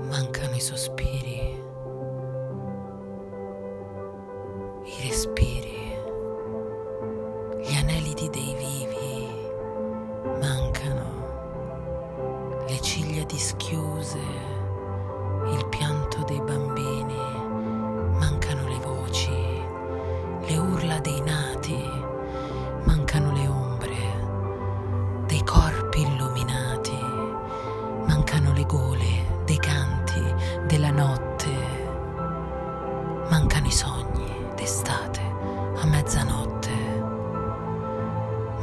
mancano i sospiri, i respiri, gli aneliti dei vivi, mancano le ciglia dischiuse,